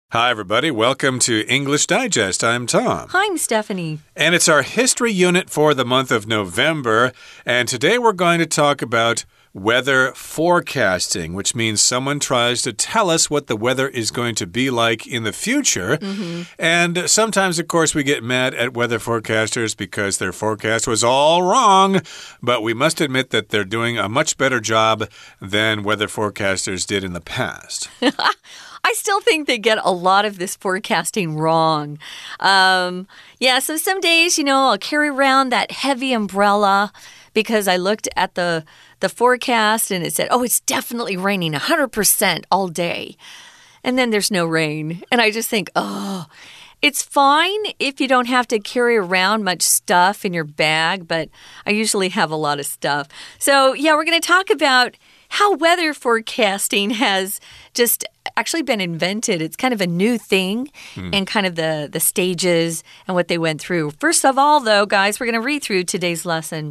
Hi, everybody. Welcome to English Digest. I'm Tom. Hi, I'm Stephanie. And it's our history unit for the month of November. And today we're going to talk about weather forecasting, which means someone tries to tell us what the weather is going to be like in the future. And sometimes, of course, we get mad at weather forecasters because their forecast was all wrong. But we must admit that they're doing a much better job than weather forecasters did in the past. I still think they get a lot of this forecasting wrong. So some days, I'll carry around that heavy umbrella because I looked at the forecast and it said, oh, it's definitely raining 100% all day. And then there's no rain. And I just think, it's fine if you don't have to carry around much stuff in your bag, but I usually have a lot of stuff. So, we're going to talk about how weather forecasting has just actually been invented. It's kind of a new thing and kind of the stages and what they went through. First of all, though, guys, we're going to read through today's lesson.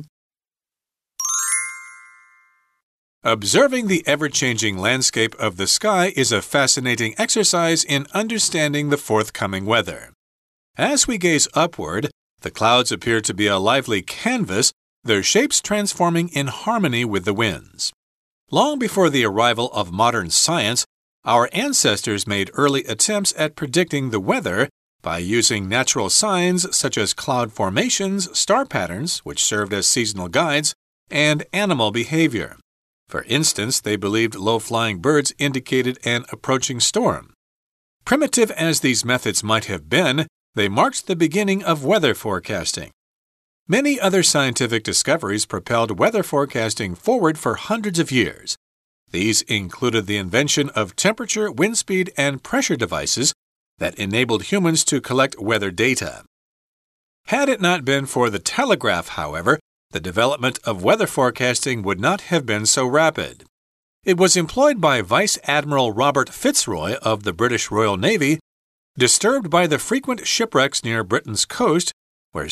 Observing the ever-changing landscape of the sky is a fascinating exercise in understanding the forthcoming weather. As we gaze upward, the clouds appear to be a lively canvas, their shapes transforming in harmony with the winds. Long before the arrival of modern science, our ancestors made early attempts at predicting the weather by using natural signs such as cloud formations, star patterns, which served as seasonal guides, and animal behavior. For instance, they believed low-flying birds indicated an approaching storm. Primitive as these methods might have been, they marked the beginning of weather forecasting. Many other scientific discoveries propelled weather forecasting forward for hundreds of years. These included the invention of temperature, wind speed, and pressure devices that enabled humans to collect weather data. Had it not been for the telegraph, however, the development of weather forecasting would not have been so rapid. It was employed by Vice Admiral Robert Fitzroy of the British Royal Navy, disturbed by the frequent shipwrecks near Britain's coast, where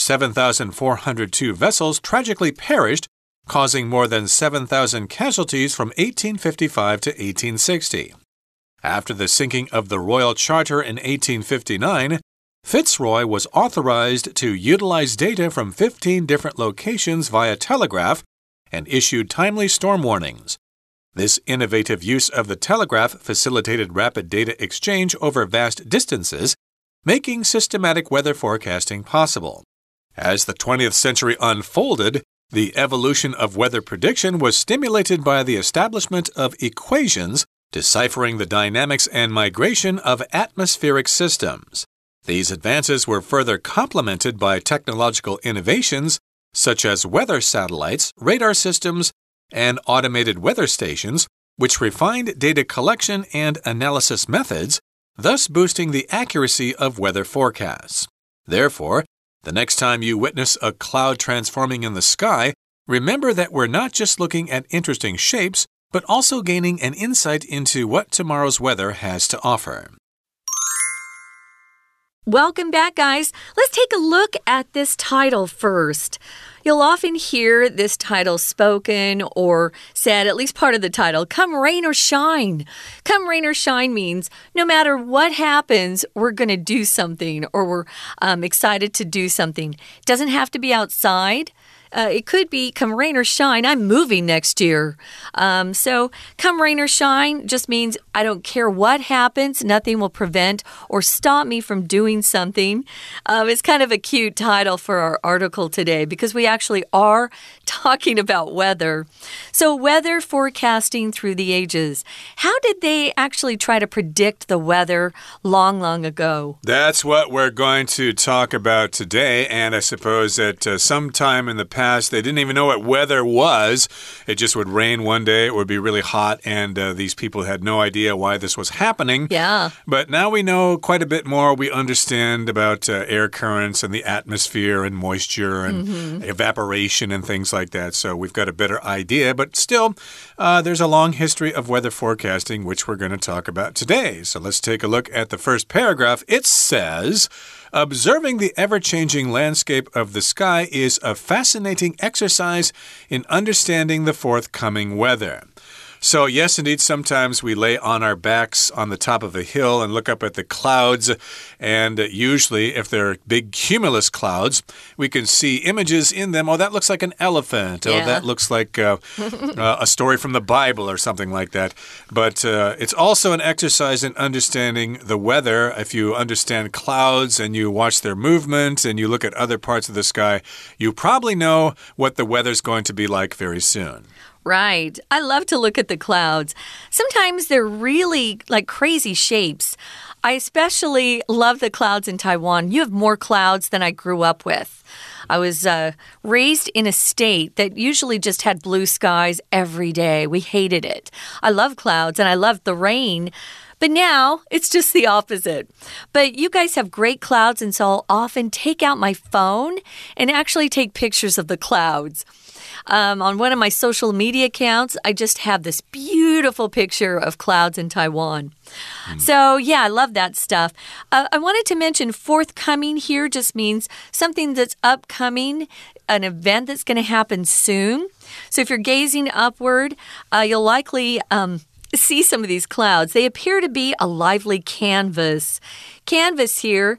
7,402 vessels tragically perished, causing more than 7,000 casualties from 1855 to 1860. After the sinking of the Royal Charter in 1859, Fitzroy was authorized to utilize data from 15 different locations via telegraph and issued timely storm warnings. This innovative use of the telegraph facilitated rapid data exchange over vast distances, making systematic weather forecasting possible. As the 20th century unfolded, the evolution of weather prediction was stimulated by the establishment of equations deciphering the dynamics and migration of atmospheric systems. These advances were further complemented by technological innovations such as weather satellites, radar systems, and automated weather stations, which refined data collection and analysis methods, thus boosting the accuracy of weather forecasts. Therefore, the next time you witness a cloud transforming in the sky, remember that we're not just looking at interesting shapes, but also gaining an insight into what tomorrow's weather has to offer. Welcome back, guys. Let's take a look at this title first. You'll often hear this title spoken or said, at least part of the title, come rain or shine. Come rain or shine means no matter what happens, we're going to do something or we're excited to do something. It doesn't have to be outside. It could be come rain or shine, I'm moving next year. So come rain or shine just means I don't care what happens, nothing will prevent or stop me from doing something. It's kind of a cute title for our article today because we actually are talking about weather. So weather forecasting through the ages. How did they actually try to predict the weather long, long ago? That's what we're going to talk about today. And I suppose that sometime in the past, they didn't even know what weather was. It just would rain one day, it would be really hot, and these people had no idea why this was happening. Yeah. But now we know quite a bit more. We understand about air currents and the atmosphere and moisture and evaporation and things like that. So we've got a better idea. But still, there's a long history of weather forecasting, which we're going to talk about today. So let's take a look at the first paragraph. It says, observing the ever-changing landscape of the sky is a fascinating exercise in understanding the forthcoming weather. So, yes, indeed, sometimes we lay on our backs on the top of a hill and look up at the clouds. And usually, if they're big cumulus clouds, we can see images in them. Oh, that looks like an elephant. Yeah. Oh, that looks like a story from the Bible or something like that. But it's also an exercise in understanding the weather. If you understand clouds and you watch their movement and you look at other parts of the sky, you probably know what the weather's going to be like very soon. Right. I love to look at the clouds. Sometimes they're really like crazy shapes. I especially love the clouds in Taiwan. You have more clouds than I grew up with. I was raised in a state that usually just had blue skies every day. We hated it. I love clouds and I love the rain. But now it's just the opposite. But you guys have great clouds, and so I'll often take out my phone and actually take pictures of the clouds. On one of my social media accounts, I just have this beautiful picture of clouds in Taiwan. So, yeah, I love that stuff. I wanted to mention forthcoming here just means something that's upcoming, an event that's going to happen soon. So if you're gazing upward, you'll likely see some of these clouds. They appear to be a lively canvas. Canvas here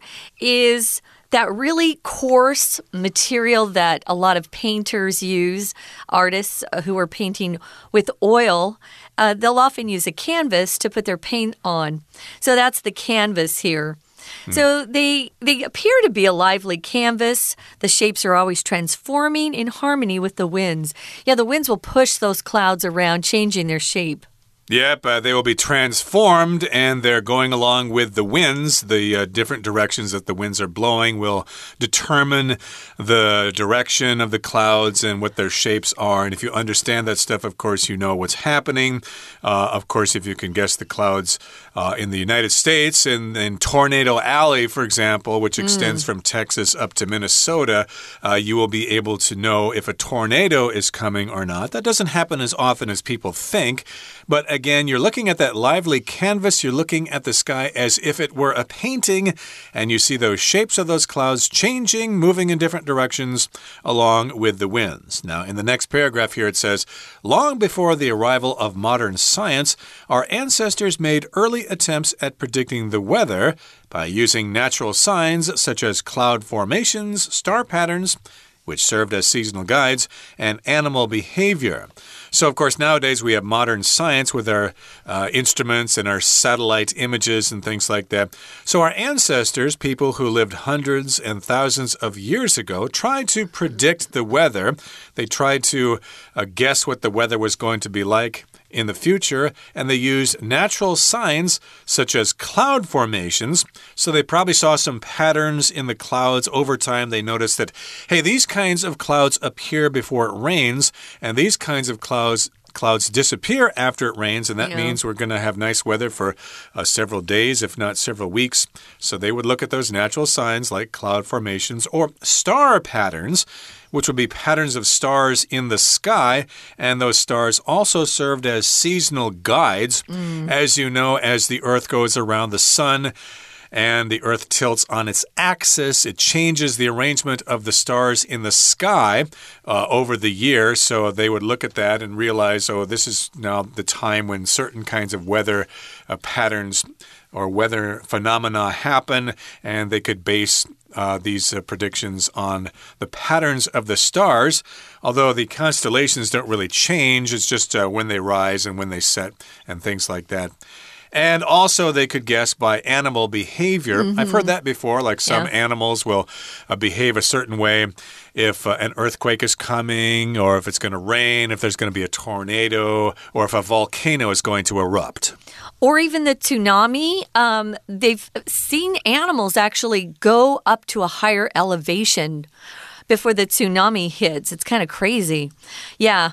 is that really coarse material that a lot of painters use, artists who are painting with oil, they'll often use a canvas to put their paint on. So that's the canvas here. So they appear to be a lively canvas. The shapes are always transforming in harmony with the winds. Yeah, the winds will push those clouds around, changing their shape. Yep, they will be transformed, and they're going along with the winds. The different directions that the winds are blowing will determine the direction of the clouds and what their shapes are. And if you understand that stuff, of course, you know what's happening. Of course, if you can guess the clouds in the United States, in Tornado Alley, for example, which extends from Texas up to Minnesota, you will be able to know if a tornado is coming or not. That doesn't happen as often as people think, but again, you're looking at that lively canvas. You're looking at the sky as if it were a painting, and you see those shapes of those clouds changing, moving in different directions along with the winds. Now, in the next paragraph here, it says, long before the arrival of modern science, our ancestors made early attempts at predicting the weather by using natural signs such as cloud formations, star patterns, which served as seasonal guides, and animal behavior. So, of course, nowadays we have modern science with our instruments and our satellite images and things like that. So our ancestors, people who lived hundreds and thousands of years ago, tried to predict the weather. They tried to guess what the weather was going to be like in the future, and they used natural signs such as cloud formations. So they probably saw some patterns in the clouds over time. They noticed that, hey, these kinds of clouds appear before it rains, and these kinds of clouds disappear after it rains, and that means we're going to have nice weather for several days, if not several weeks. So they would look at those natural signs like cloud formations or star patterns, which would be patterns of stars in the sky, and those stars also served as seasonal guides. As you know, as the Earth goes around the sun, and the Earth tilts on its axis, it changes the arrangement of the stars in the sky over the year. So they would look at that and realize, oh, this is now the time when certain kinds of weather patterns or weather phenomena happen, and they could base these predictions on the patterns of the stars, although the constellations don't really change. It's just when they rise and when they set and things like that. And also they could guess by animal behavior. I've heard that before, like some animals will behave a certain way if an earthquake is coming, or if it's going to rain, if there's going to be a tornado, or if a volcano is going to erupt. Or even the tsunami. They've seen animals actually go up to a higher elevation before the tsunami hits. It's kind of crazy. Yeah.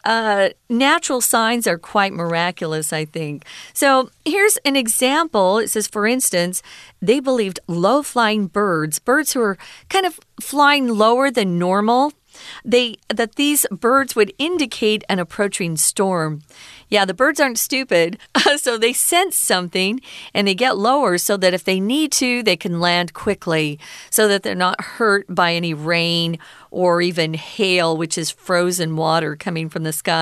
Natural signs are quite miraculous, I think. So here's an example. It says, for instance, they believed low-flying birds who are kind of flying lower than normal, that these birds would indicate an approaching storm. Yeah, the birds aren't stupid, so they sense something and they get lower so that if they need to, they can land quickly so that they're not hurt by any rain or even hail, which is frozen water coming from the sky.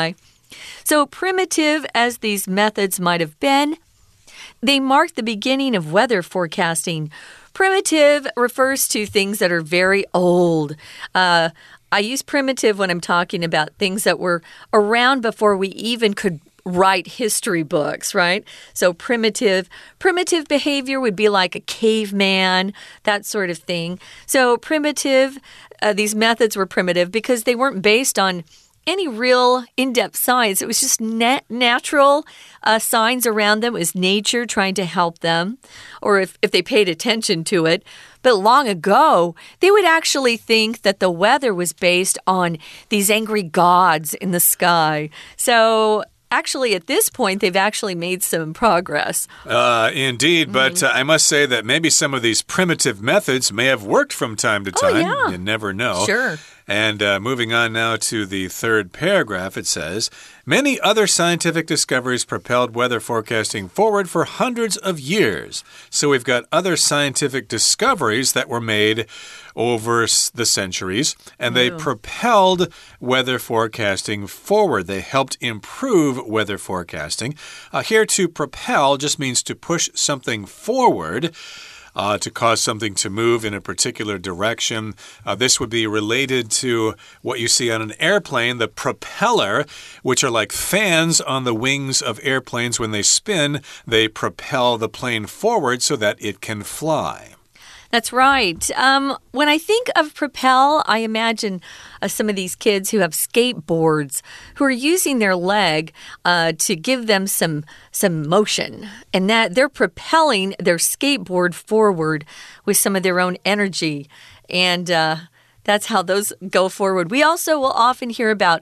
So primitive as these methods might have been, they mark the beginning of weather forecasting. Primitive refers to things that are very old. I use primitive when I'm talking about things that were around before we even could write history books, right? So primitive behavior would be like a caveman, that sort of thing. So primitive, these methods were primitive because they weren't based on any real in-depth science. It was just natural signs around them. It was nature trying to help them, or if they paid attention to it. But long ago, they would actually think that the weather was based on these angry gods in the sky. So actually, at this point, they've actually made some progress. Indeed, but I must say that maybe some of these primitive methods may have worked from time to time. Oh, yeah. You never know. Sure. And moving on now to the third paragraph, it says, many other scientific discoveries propelled weather forecasting forward for hundreds of years. So we've got other scientific discoveries that were made over the centuries, and they propelled weather forecasting forward. They helped improve weather forecasting. Here, to propel just means to push something forward. To cause something to move in a particular direction. This would be related to what you see on an airplane, the propeller, which are like fans on the wings of airplanes. When they spin, they propel the plane forward so that it can fly. That's right. When I think of propel, I imagine some of these kids who have skateboards who are using their leg to give them some motion, and that they're propelling their skateboard forward with some of their own energy, and that's how those go forward. We also will often hear about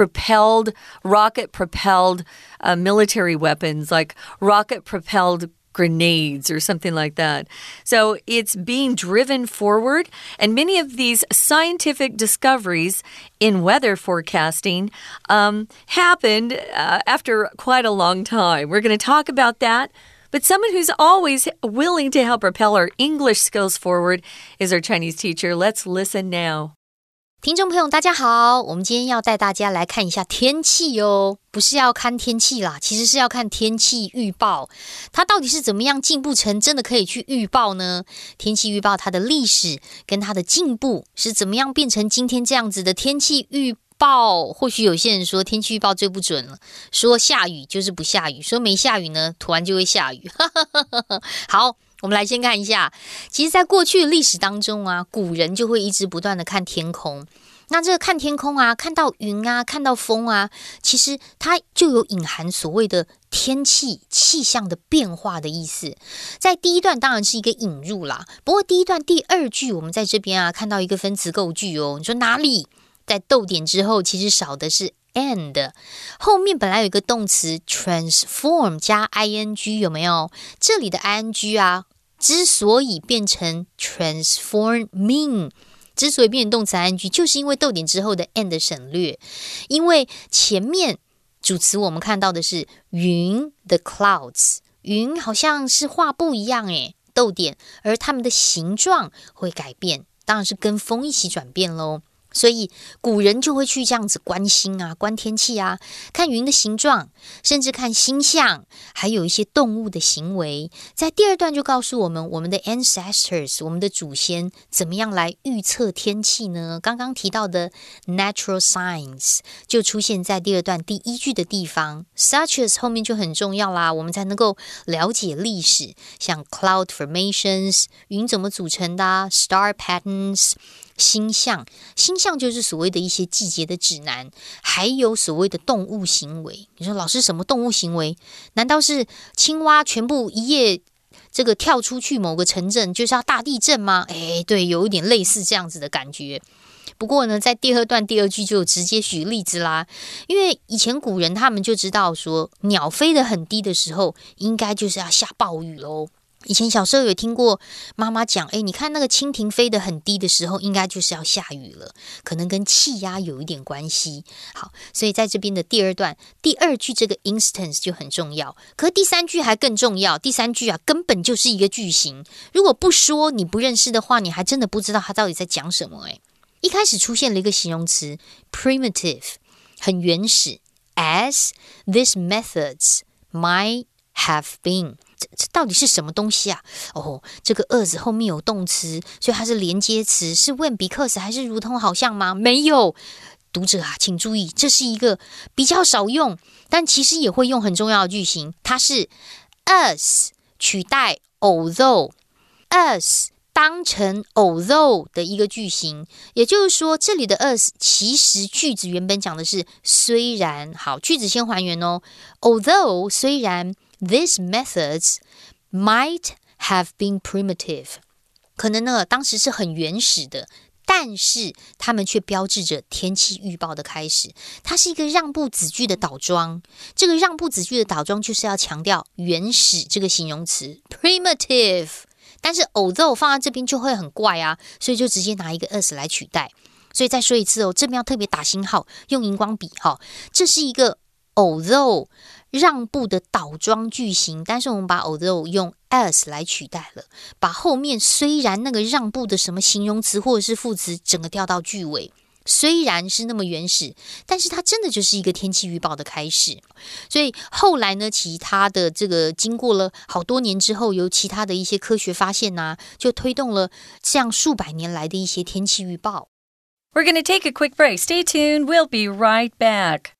rocket-propelled military weapons, like rocket-propelled grenades or something like that. So it's being driven forward, and many of these scientific discoveries in weather forecasting happened after quite a long time. We're going to talk about that. But someone who's always willing to help propel our English skills forward is our Chinese teacher. Let's listen now. 听众朋友大家好，我们今天要带大家来看一下天气哦，不是要看天气啦，其實是要看天氣預報，它到底是怎麼樣進步成真的可以去預報呢？天氣預報它的歷史跟它的進步是怎麼樣變成今天這樣子的天氣預報？或許有些人說天氣預報最不準了，說下雨就是不下雨，說沒下雨呢，突然就會下雨。好，我們來先看一下，其實在過去的歷史當中啊，古人就會一直不斷的看天空。那這個看天空啊，看到雲啊，看到風啊，其實它就有隱含所謂的天氣氣象的變化的意思。在第一段當然是一個引入啦，不過第一段第二句我們在這邊啊看到一個分詞構句哦，你說哪裡？在逗點之後其實少的是 and， 後面本來有一個動詞 transform 加 ing 有沒有？這裡的 ing 啊，之所以變成 transforming， 之所以變成動詞 ing， 就是因為逗點之後的 and 省略，因為前面主詞我們看到的是雲 the clouds， 雲好像是畫布一樣誒，逗點，而它們的形狀會改變，當然是跟風一起轉變咯。所以古人就會去這樣子觀星啊，觀天氣啊，看雲的形狀，甚至看星象，還有一些動物的行為。在第二段就告訴我們，我們的 ancestors， 我們的祖先怎麼樣來預測天氣呢？剛剛提到的 natural science 就出現在第二段第一句的地方 ，such as 後面就很重要啦，我們才能夠了解歷史，像 cloud formations 雲怎麼組成的啊 ，star patterns。星象就是所謂的一些季節的指南，還有所謂的動物行為。你說老師什麼動物行為？難道是青蛙全部一夜這個跳出去某個城鎮就是要大地震嗎？誒，對，有一點類似這樣子的感覺。不過呢，在第二段第二句就直接舉例子啦，因為以前古人他們就知道說，鳥飛得很低的時候，應該就是要下暴雨咯。以前小時候有聽過媽媽講，你看那個蜻蜓飛得很低的時候，應該就是要下雨了，可能跟氣壓有一點關係。好，所以在這邊的第二段第二句這個 instance 就很重要，可是第三句還更重要。第三句啊，根本就是一個句型，如果不說你不認識的話，你還真的不知道它到底在講什麼。一開始出現了一個形容詞 primitive， 很原始 as these methods might have been。这到底是什麼東西啊？這個 as 後面有動詞，所以它是連接詞，是 when because 還是如同好像嗎？沒有。讀者啊，請注意，這是一個比較少用，但其實也會用很重要的句型。它是 as 取代 although，as 當成 although 的一個句型。也就是說，這裡的 as 其實句子原本講的是雖然。好，句子先還原哦。Although 雖然 these methods might have been primitive， 可能呢當時是很原始的。但是它們卻標誌着天氣預報的開始，它是一個讓步子句的倒裝。這個讓步子句的倒裝就是要強調原始這個形容詞 primitive， 但是 although 放在這邊就會很怪啊，所以就直接拿一個 as 來取代。所以再說一次哦，這邊要特別打星號，用熒光筆哈，這是一個 although 讓步的倒裝句型，但是我們把 although 用 as 來取代了，把後面雖然那個讓步的什麼形容詞或者是副詞整個調到句尾。雖然是那麼原始，但是它真的就是一個天氣預報的開始。所以後來呢，其他的這個經過了好多年之後，有其他的一些科學發現啊，就推動了這樣數百年來的一些天氣預報。 We're going to take a quick break. Stay tuned. We'll be right back.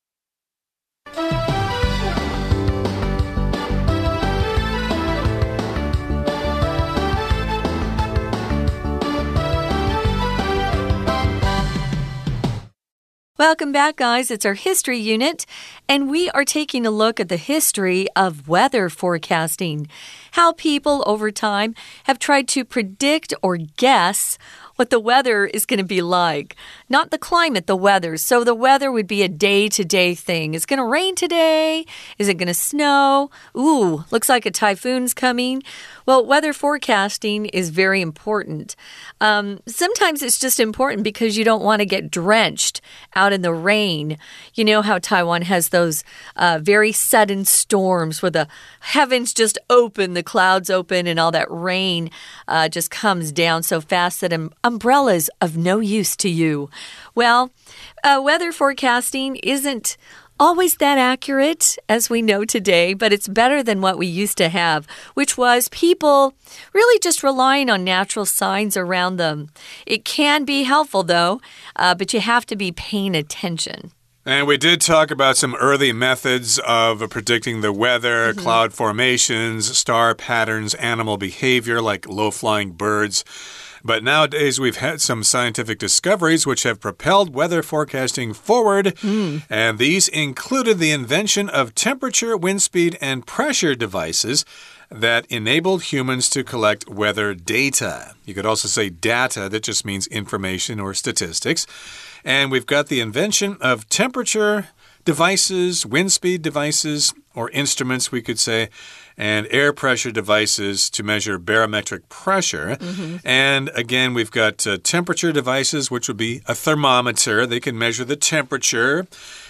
Welcome back, guys. It's our history unit, and we are taking a look at the history of weather forecasting, how people over time have tried to predict or guess what the weather is going to be like. Not the climate, the weather. So the weather would be a day-to-day thing. Is it going to rain today? Is it going to snow? Ooh, looks like a typhoon's coming. Well, weather forecasting is very important. Sometimes it's just important because you don't want to get drenched out in the rain. You know how Taiwan has those very sudden storms where the heavens just open, the clouds open, and all that rain just comes down so fast that umbrellas of no use to you. Well, weather forecasting isn't always that accurate as we know today, but it's better than what we used to have, which was people really just relying on natural signs around them. It can be helpful, though, but you have to be paying attention. And we did talk about some early methods of predicting the weather, cloud formations, star patterns, animal behavior like low-flying birds. But nowadays, we've had some scientific discoveries which have propelled weather forecasting forward. And these included the invention of temperature, wind speed, and pressure devices that enabled humans to collect weather data. You could also say data, that just means information or statistics. And we've got the invention of temperature devices, wind speed devices, or instruments, we could say, and air pressure devices to measure barometric pressure. And again, we've got temperature devices, which would be a thermometer. They can measure the temperature.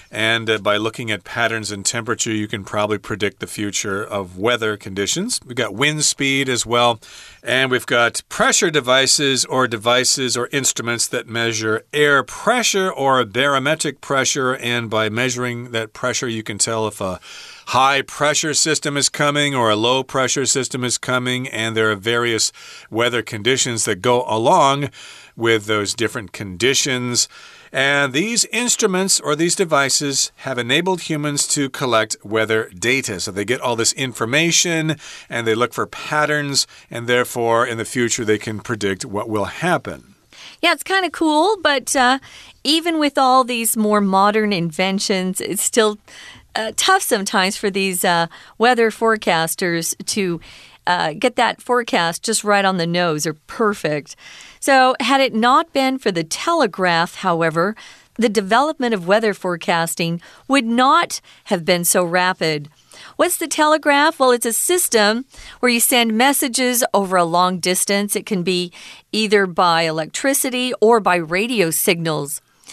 And by looking at patterns in temperature, you can probably predict the future of weather conditions. We've got wind speed as well. And we've got pressure devices or instruments that measure air pressure or barometric pressure. And by measuring that pressure, you can tell if a high pressure system is coming or a low pressure system is coming. And there are various weather conditions that go along with those different conditions. And these instruments or these devices have enabled humans to collect weather data. So they get all this information and they look for patterns, and therefore in the future they can predict what will happen. Yeah, it's kind of cool, but even with all these more modern inventions, it's still tough sometimes for these weather forecasters to get that forecast just right on the nose or perfect. So had it not been for the telegraph, however, the development of weather forecasting would not have been so rapid. What's the telegraph? Well, it's a system where you send messages over a long distance. It can be either by electricity or by radio signals.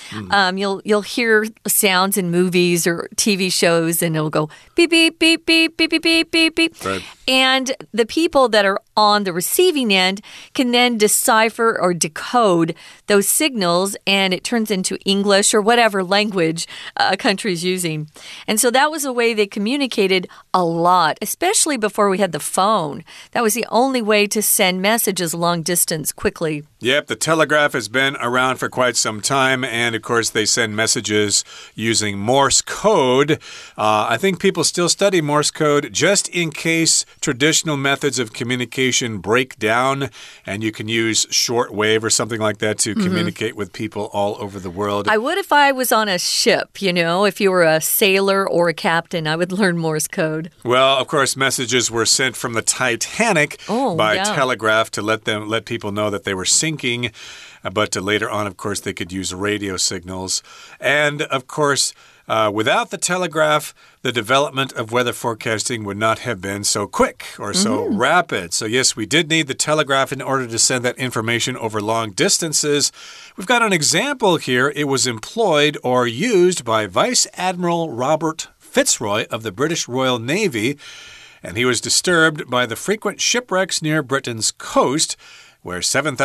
You'll hear sounds in movies or TV shows, and it'll go beep, beep, beep, beep, beep, beep, beep, beep, beep. Right. And the people that are on the receiving end can then decipher or decode those signals, and it turns into English or whatever language a country is using. And so that was a way they communicated a lot, especially before we had the phone. That was the only way to send messages long distance quickly. Yep, the telegraph has been around for quite some time, and of course they send messages using Morse code. I think people still study Morse code just in case traditional methods of communication break down, and you can use shortwave or something like that to communicate with people all over the world. I would if I was on a ship, if you were a sailor or a captain, I would learn Morse code. Well, of course, messages were sent from the Titanic by telegraph to let people know that they were sinking. But later on, of course, they could use radio signals. And, of course, without the telegraph, the development of weather forecasting would not have been so quick or so rapid. So, yes, we did need the telegraph in order to send that information over long distances. We've got an example here. It was employed or used by Vice Admiral Robert Fitzroy of the British Royal Navy, and he was disturbed by the frequent shipwrecks near Britain's coast, where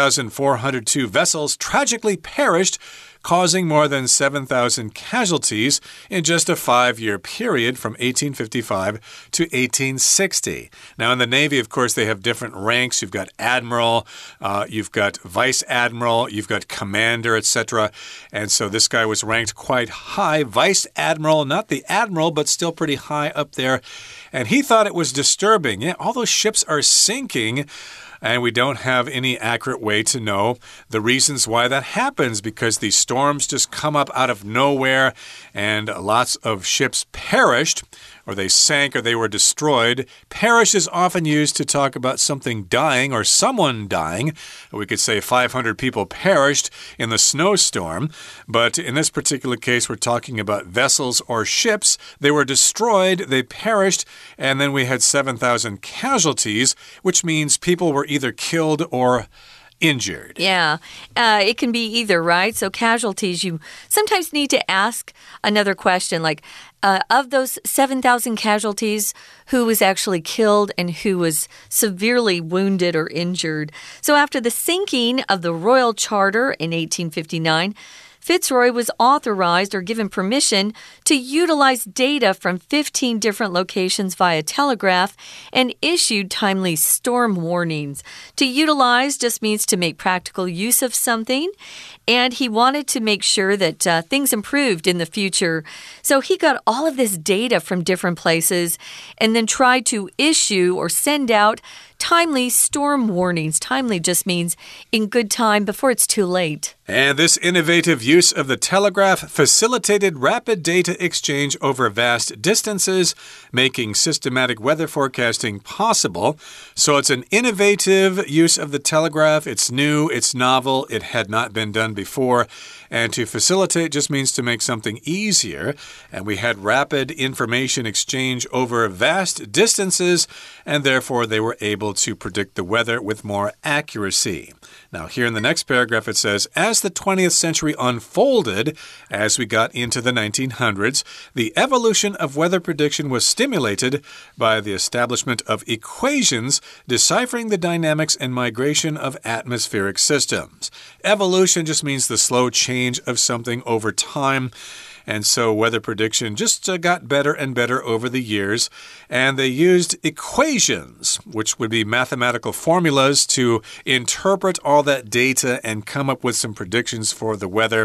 7,402 vessels tragically perished, causing more than 7,000 casualties in just a 5-year period from 1855 to 1860. Now, in the Navy, of course, they have different ranks. You've got admiral, you've got vice admiral, you've got commander, etc. And so this guy was ranked quite high. Vice admiral, not the admiral, but still pretty high up there. And he thought it was disturbing. Yeah, all those ships are sinking. And we don't have any accurate way to know the reasons why that happens, because these storms just come up out of nowhere and lots of ships perished, or they sank, or they were destroyed. Perish is often used to talk about something dying or someone dying. We could say 500 people perished in the snowstorm. But in this particular case, we're talking about vessels or ships. They were destroyed, they perished, and then we had 7,000 casualties, which means people were either killed or injured. Yeah, it can be either, right? So casualties, you sometimes need to ask another question, like, of those 7,000 casualties, who was actually killed and who was severely wounded or injured? So after the sinking of the Royal Charter in 1859, Fitzroy was authorized or given permission to utilize data from 15 different locations via telegraph and issued timely storm warnings. To utilize just means to make practical use of something, and he wanted to make sure that things improved in the future. So he got all of this data from different places and then tried to issue or send out timely storm warnings. Timely just means in good time before it's too late. And this innovative use of the telegraph facilitated rapid data exchange over vast distances, making systematic weather forecasting possible. So it's an innovative use of the telegraph. It's new, it's novel, it had not been done before. And to facilitate just means to make something easier. And we had rapid information exchange over vast distances, and therefore they were able to predict the weather with more accuracy. Now, here in the next paragraph, it says, as the 20th century unfolded, as we got into the 1900s, the evolution of weather prediction was stimulated by the establishment of equations deciphering the dynamics and migration of atmospheric systems. Evolution just means the slow change of something over time. And so weather prediction just got better and better over the years. And they used equations, which would be mathematical formulas, to interpret all that data and come up with some predictions for the weather.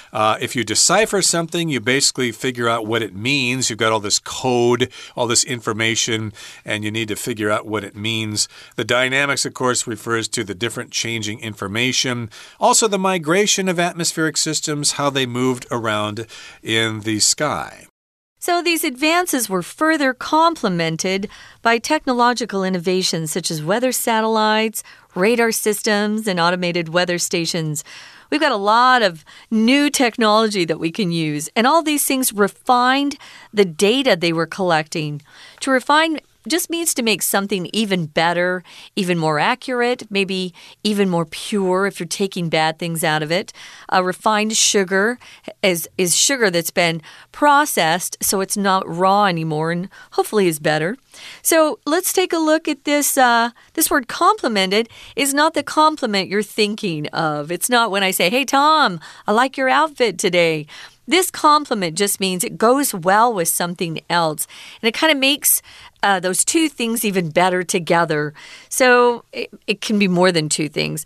If you decipher something, you basically figure out what it means. You've got all this code, all this information, and you need to figure out what it means. The dynamics, of course, refers to the different changing information. Also, the migration of atmospheric systems, how they moved around in the sky. So these advances were further complemented by technological innovations such as weather satellites, radar systems, and automated weather stations. We've got a lot of new technology that we can use, and all these things refined the data they were collecting. To refine just means to make something even better, even more accurate, maybe even more pure if you're taking bad things out of it. Refined sugar is sugar that's been processed, so it's not raw anymore and hopefully is better. So let's take a look at this. This word complimented is not the compliment you're thinking of. It's not when I say, hey, Tom, I like your outfit today. This compliment just means it goes well with something else. And it kind of makes those two things even better together. So it can be more than two things.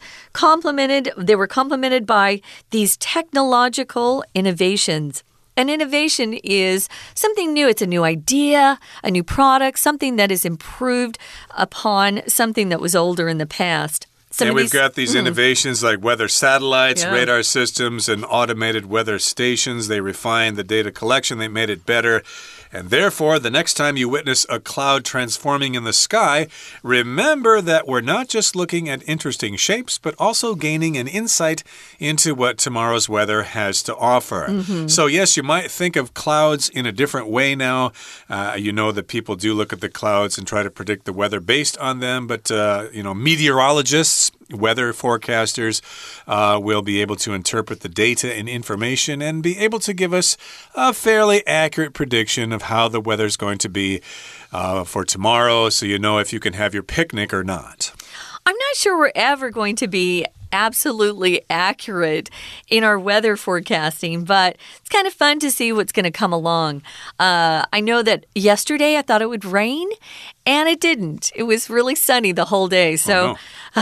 They were complimented by these technological innovations. An innovation is something new. It's a new idea, a new product, something that is improved upon something that was older in the past. And we've got these innovations like weather satellites, radar systems, and automated weather stations. They refined the data collection. They made it better. And therefore, the next time you witness a cloud transforming in the sky, remember that we're not just looking at interesting shapes, but also gaining an insight into what tomorrow's weather has to offer. So yes, you might think of clouds in a different way now. You know that people do look at the clouds and try to predict the weather based on them, but meteorologists, weather forecasters will be able to interpret the data and information and be able to give us a fairly accurate prediction of how the weather's going to be for tomorrow, so you know if you can have your picnic or not. I'm not sure we're ever going to be absolutely accurate in our weather forecasting, but it's kind of fun to see what's going to come along. I know that yesterday I thought it would rain, and it didn't. It was really sunny the whole day. So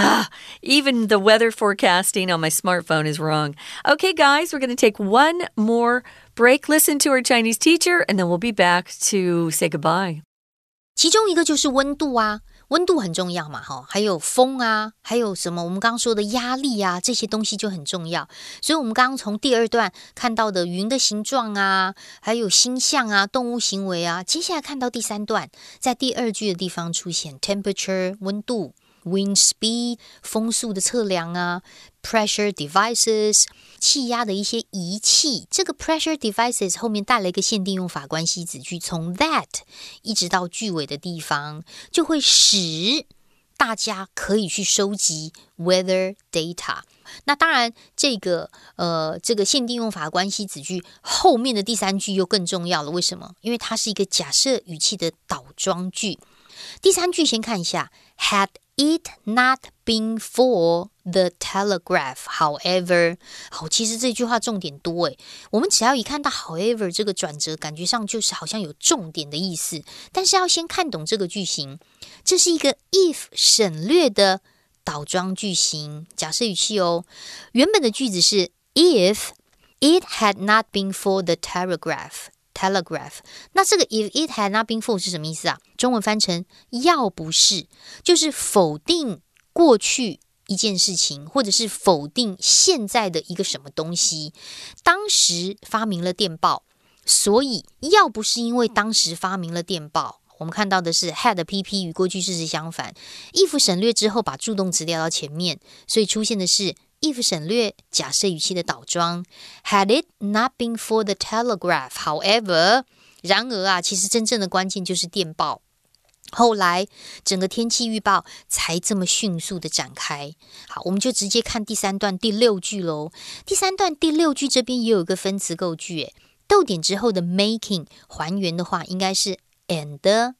even the weather forecasting on my smartphone is wrong. Okay, guys, we're going to take one more break, listen to our Chinese teacher, and then we'll be back to say goodbye. 其中一个就是温度啊。温度很重要嘛，还有風啊，還有什麼我們剛剛說的壓力啊，這些東西就很重要。所以我們剛剛從第二段看到的雲的形狀啊，還有星象啊，動物行為啊，接下來看到第三段，在第二句的地方出現 temperature 溫度，wind speed 風速的測量啊，pressure devices 氣壓的一些儀器。這個 pressure devices 後面帶了一個限定用法關係子句，從 that 一直到句尾的地方，就會使大家可以去收集 weather data。那當然這個限定用法關係子句後面的第三句又更重要了。為什麼？因為它是一個假設語氣的倒裝句。第三句先看一下 had it not been for the telegraph, however 好，其實這句話重點多誒，我們只要一看到 however 這個轉折，感覺上就是好像有重點的意思，但是要先看懂這個句型，這是一個 if 省略的倒裝句型，假設語氣哦。原本的句子是 if it had not been for the telegraph，那這個 if it had not been for 是什麼意思啊？中文翻成要不是，就是否定過去一件事情，或者是否定現在的一個什麼東西。當時發明了電報，所以要不是因為當時發明了電報，我們看到的是 had PP 與過去事實相反， if 省略之後把助動詞調到前面，所以出現的是if 省略假設語氣的倒裝 Had it not been for the telegraph, however 然而啊，其實真正的關鍵就是電報，後來整個天氣預報才這麼迅速的展開。好，我們就直接看第三段第六句咯。第三段第六句這邊也有一個分詞構句，逗點之後的 making 還原的話應該是 and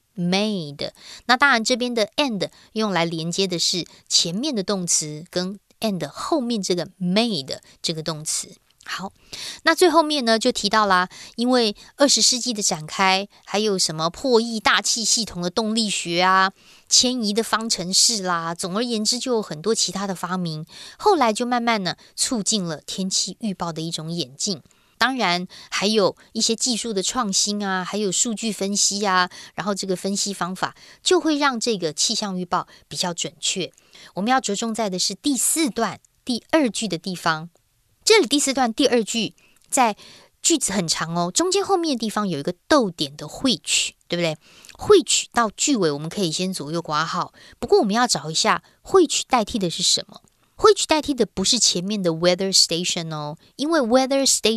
made， 那當然這邊的 and 用來連接的是前面的動詞跟and 後面這個 made 這個動詞。好，那最後面呢就提到啦，因為20世紀的展開，還有什麼破譯大氣系統的動力學啊，遷移的方程式啦，總而言之就有很多其他的發明，後來就慢慢呢促進了天氣預報的一種演進。當然還有一些技術的創新啊，還有數據分析啊，然後這個分析方法就會讓這個氣象預報比較準確。我們要着重在的是第四段第二句的地方，這裡第四段第二句在句子很長哦，中間後面的地方有一個逗點的 which， 對不對？ which 到句尾我們可以先左右括號，不過我們要找一下 which 代替的是什麼。which 代替的不是前面的 weather station 哦，因為 weather station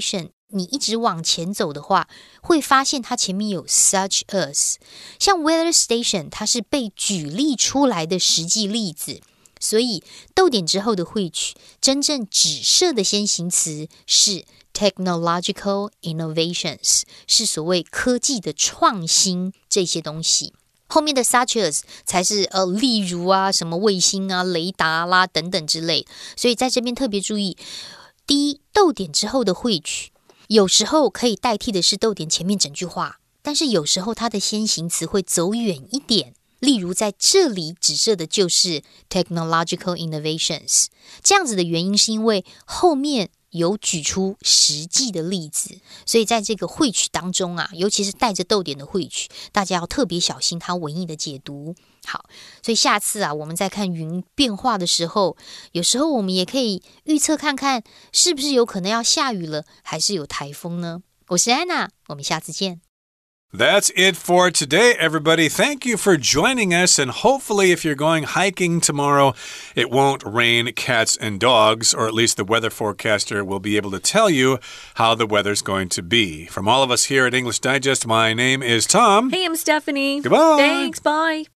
你一直往前走的話，會發現它前面有 such as， 像 weather station 它是被舉例出來的實際例子，所以逗點之後的which真正指涉的先行詞是 technological innovations， 是所謂科技的創新這些東西。後面的 such as 才是例如啊，什麼衛星啊、雷達啦等等之類。所以在這邊特別注意，第一，逗點之後的which有時候可以代替的是逗點前面整句話，但是有時候它的先行詞會走遠一點。例如在這裡指涉的就是 technological innovations， 這樣子的原因是因為後面有舉出實際的例子，所以在這個which當中啊，尤其是帶着逗點的which，大家要特別小心它文意的解讀。好，所以下次啊，我們在看雲變化的時候，有時候我們也可以預測看看，是不是有可能要下雨了，還是有颱風呢？我是安娜，我們下次見。 That's it for today, everybody. Thank you for joining us, and hopefully if you're going hiking tomorrow, it won't rain cats and dogs, or at least the weather forecaster will be able to tell you how the weather's going to be. From all of us here at English Digest, my name is Tom. Hey, I'm Stephanie. Goodbye. Thanks, bye.